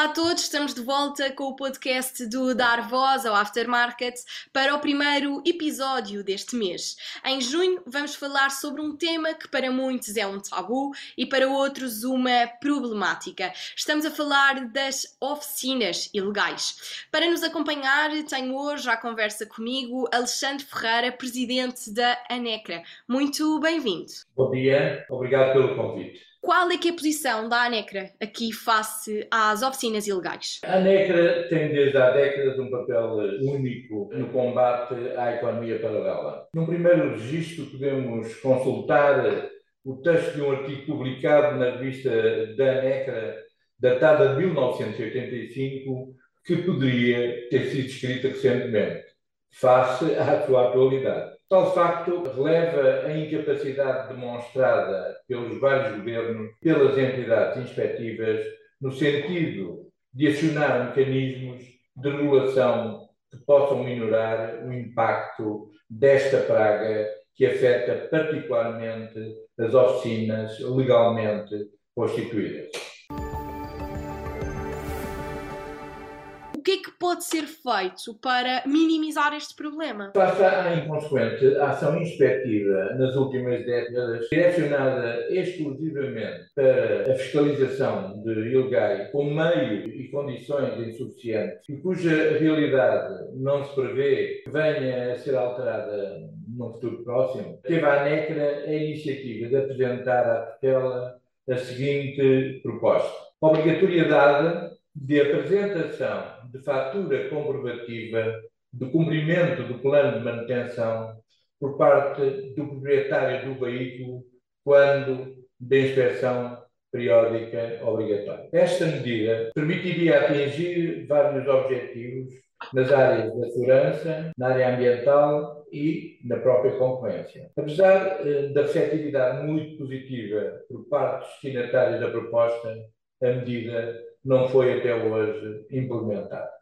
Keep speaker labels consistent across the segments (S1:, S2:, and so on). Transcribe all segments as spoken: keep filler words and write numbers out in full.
S1: Olá a todos, estamos de volta com o podcast do Dar Voz ao Aftermarket para o primeiro episódio deste mês. Em junho vamos falar sobre um tema que para muitos é um tabu e para outros uma problemática. Estamos a falar das oficinas ilegais. Para nos acompanhar, tenho hoje à conversa comigo Alexandre Ferreira, presidente da ANECRA. Muito bem-vindo.
S2: Bom dia, obrigado pelo convite.
S1: Qual é que é a posição da ANECRA aqui face às oficinas ilegais?
S2: A ANECRA tem desde há décadas um papel único no combate à economia paralela. Num primeiro registro podemos consultar o texto de um artigo publicado na revista da ANECRA, datada de mil novecentos e oitenta e cinco, que poderia ter sido escrita recentemente, face à sua atualidade. Tal facto releva a incapacidade demonstrada pelos vários governos, pelas entidades inspectivas, no sentido de acionar mecanismos de regulação que possam minorar o impacto desta praga que afeta particularmente as oficinas legalmente constituídas.
S1: O que é que pode ser feito para minimizar este problema?
S2: Face à inconsequente ação inspectiva nas últimas décadas, direcionada exclusivamente para a fiscalização de ilegais com meio e condições insuficientes e cuja realidade não se prevê que venha a ser alterada num futuro próximo, teve a ANECRA a iniciativa de apresentar à tutela a seguinte proposta: obrigatoriedade de apresentação de fatura comprovativa do cumprimento do plano de manutenção por parte do proprietário do veículo quando da inspeção periódica obrigatória. Esta medida permitiria atingir vários objetivos nas áreas da segurança, na área ambiental e na própria concorrência. Apesar eh, da receptividade muito positiva por parte dos destinatários da proposta, a medida não foi até hoje implementada.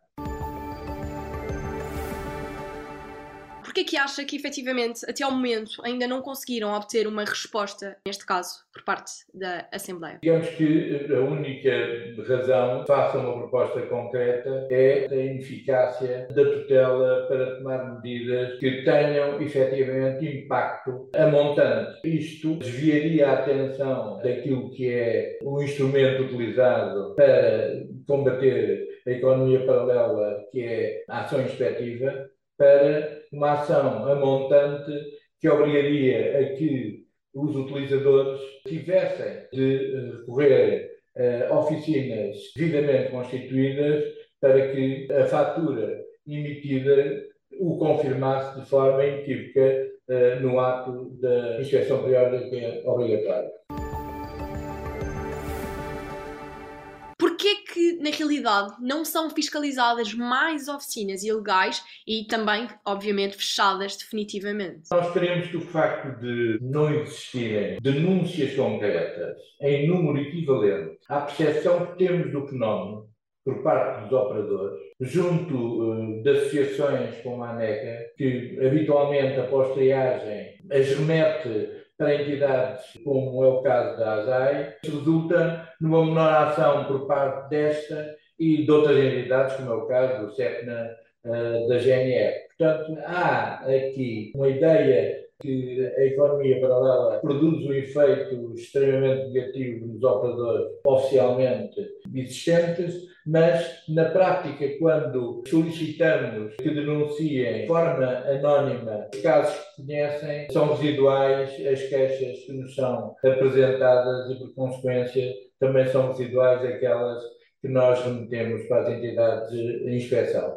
S1: Porquê que acha que, efetivamente, até ao momento, ainda não conseguiram obter uma resposta, neste caso, por parte da Assembleia?
S2: Digamos que a única razão, face a uma proposta concreta, é a ineficácia da tutela para tomar medidas que tenham, efetivamente, impacto a montante. Isto desviaria a atenção daquilo que é o instrumento utilizado para combater a economia paralela, que é a ação inspectiva, para uma ação a montante que obrigaria a que os utilizadores tivessem de recorrer a oficinas devidamente constituídas para que a fatura emitida o confirmasse de forma inequívoca no ato da inspeção periódica obrigatória.
S1: Porquê que, na realidade, não são fiscalizadas mais oficinas ilegais e também, obviamente, fechadas definitivamente?
S2: Nós queremos que o facto de não existirem denúncias concretas em número equivalente à percepção que temos do fenómeno por parte dos operadores, junto uh, de associações como a ANECRA, que habitualmente, após triagem, as remete para entidades como é o caso da ASAI, resulta numa menor ação por parte desta e de outras entidades, como é o caso do SEPNA, uh, da G N R. Portanto, há aqui uma ideia que a economia paralela produz um efeito extremamente negativo nos operadores oficialmente existentes, mas na prática, quando solicitamos que denunciem de forma anónima os casos que conhecem, são residuais as queixas que nos são apresentadas e, por consequência, também são residuais aquelas que nós remetemos para as entidades de inspeção.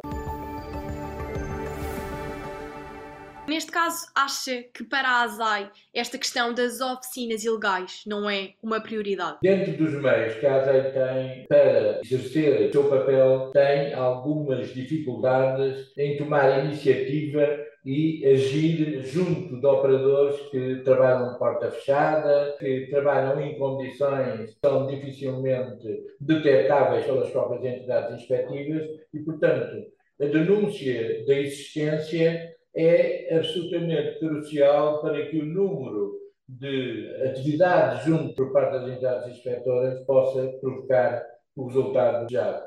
S1: Neste caso, acha que para a ASAI esta questão das oficinas ilegais não é uma prioridade?
S2: Dentro dos meios que a ASAI tem para exercer o seu papel, tem algumas dificuldades em tomar iniciativa e agir junto de operadores que trabalham de porta fechada, que trabalham em condições que são dificilmente detectáveis pelas próprias entidades inspectivas e, portanto, a denúncia da existência é absolutamente crucial para que o número de atividades junto por parte das entidades inspetoras possa provocar o resultado desejado.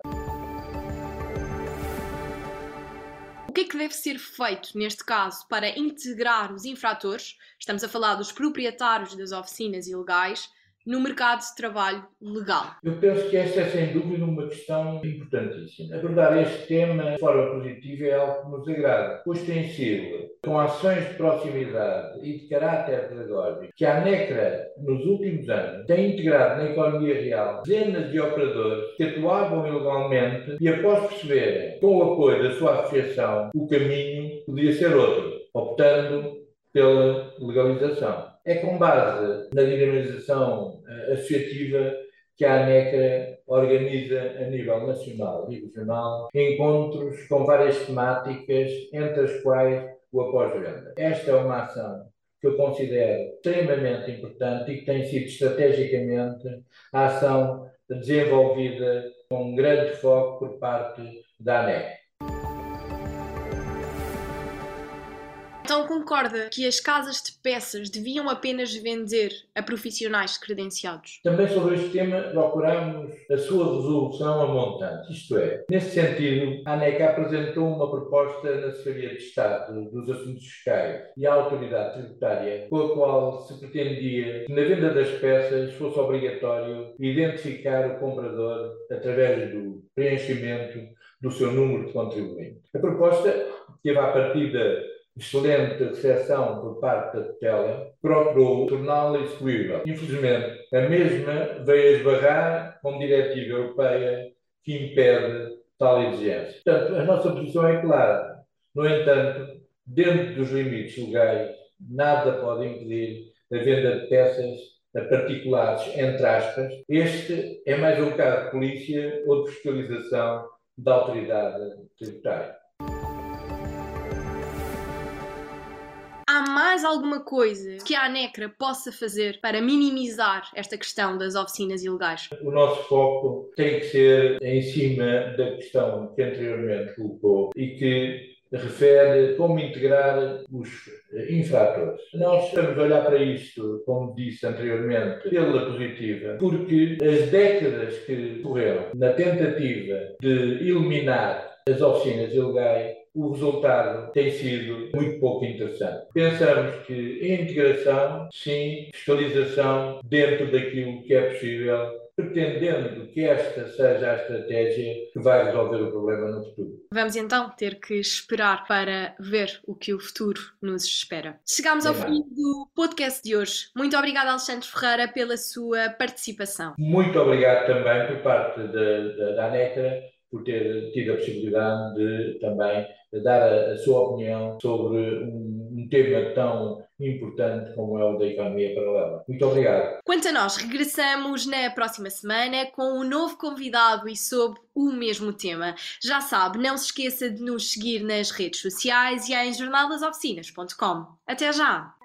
S1: O que é que deve ser feito, neste caso, para integrar os infratores, estamos a falar dos proprietários das oficinas ilegais, no mercado de trabalho legal?
S2: Eu penso que esta é, sem dúvida, uma questão importantíssima. Abordar este tema de forma positiva é algo que nos agrada, pois tem sido, com ações de proximidade e de caráter pedagógico, que a ANECRA, nos últimos anos, tem integrado na economia real dezenas de operadores que atuavam ilegalmente e, após perceberem, com o apoio da sua associação, o caminho podia ser outro, optando pela legalização. É com base na dinamização uh, associativa que a ANECRA organiza a nível nacional e regional encontros com várias temáticas, entre as quais o após-venda. Esta é uma ação que eu considero extremamente importante e que tem sido estrategicamente a ação desenvolvida com um grande foco por parte da ANECRA.
S1: Então concorda que as casas de peças deviam apenas vender a profissionais credenciados?
S2: Também sobre este tema procuramos a sua resolução a montante, isto é, nesse sentido, a ANECA apresentou uma proposta na Secretaria de Estado dos Assuntos Fiscais e à Autoridade Tributária, com a qual se pretendia que na venda das peças fosse obrigatório identificar o comprador através do preenchimento do seu número de contribuinte. A proposta teve à partida excelente recepção por parte da tutela, procurou torná-la execuível. Infelizmente, a mesma veio esbarrar com diretiva europeia que impede tal exigência. Portanto, a nossa posição é clara. No entanto, dentro dos limites legais, nada pode impedir a venda de peças a particulares, entre aspas. Este é mais um caso de polícia ou de fiscalização da autoridade tributária.
S1: Há mais alguma coisa que a ANECRA possa fazer para minimizar esta questão das oficinas ilegais?
S2: O nosso foco tem que ser em cima da questão que anteriormente colocou e que refere como integrar os infratores. Nós estamos a olhar para isto, como disse anteriormente, pela positiva, porque as décadas que correram na tentativa de eliminar as oficinas ilegais, o resultado tem sido muito pouco interessante. Pensamos que a integração, sim, fiscalização dentro daquilo que é possível, pretendendo que esta seja a estratégia que vai resolver o problema no futuro.
S1: Vamos então ter que esperar para ver o que o futuro nos espera. Chegamos ao fim do podcast de hoje. Muito obrigada, Alexandre Ferreira, pela sua participação.
S2: Muito obrigado também por parte da, da, da ANECRA por ter tido a possibilidade de também dar a, a sua opinião sobre um, um tema tão importante como é o da economia paralela. Muito obrigado.
S1: Quanto a nós, regressamos na próxima semana com um novo convidado e sobre o mesmo tema. Já sabe, não se esqueça de nos seguir nas redes sociais e em jornal das oficinas ponto com. Até já!